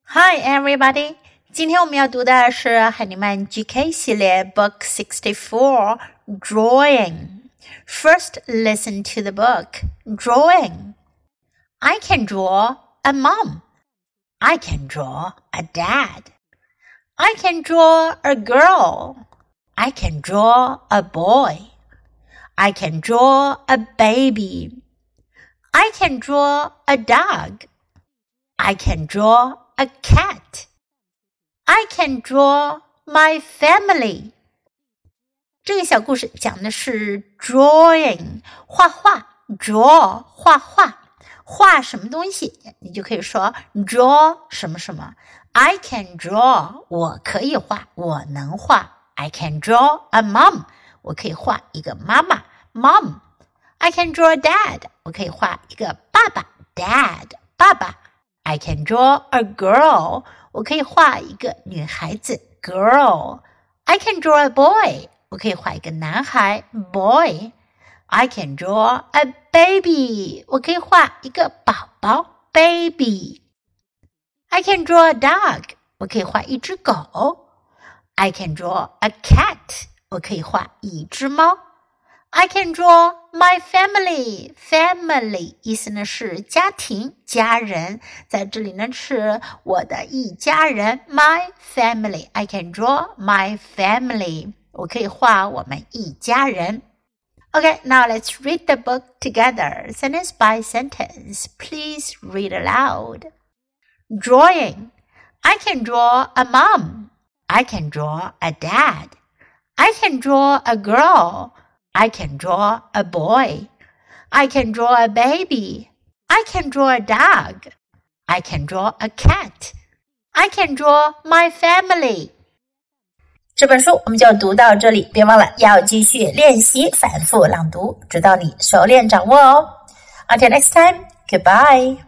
Hi everybody! 今天我们要读的是海尼曼 GK 系列 Book 64 Drawing. First, listen to the book. Drawing. I can draw a mom. I can draw a dad. I can draw a girl. I can draw a boy. I can draw a baby. I can draw a dog. I can draw a cat. I can draw my family. 这个小故事讲的是 drawing 画画 draw 画画画什么东西你就可以说 draw 什么什么 I can draw 我可以画我能画 I can draw a mom 我可以画一个妈妈 mom I can draw a dad 我可以画一个爸爸 dad 爸爸I can draw a girl. 我可以画一个女孩子 girl. I can draw a boy. 我可以画一个男孩 boy. I can draw a baby. 我可以画一个宝宝 baby. I can draw a dog. 我可以画一只狗 I can draw a cat. 我可以画一只猫I can draw my family. Family 意思呢是家庭、家人，在这里呢是我的一家人 my family. I can draw my family. 我可以画我们一家人。Okay, now let's read the book together, sentence by sentence. Please read aloud. Drawing. I can draw a mom. I can draw a dad. I can draw a girl.I can draw a boy. I can draw a baby. I can draw a dog. I can draw a cat. I can draw my family. 这本书我们就读到这里，别忘了要继续练习反复朗读，直到你熟练掌握哦。Until next time, goodbye.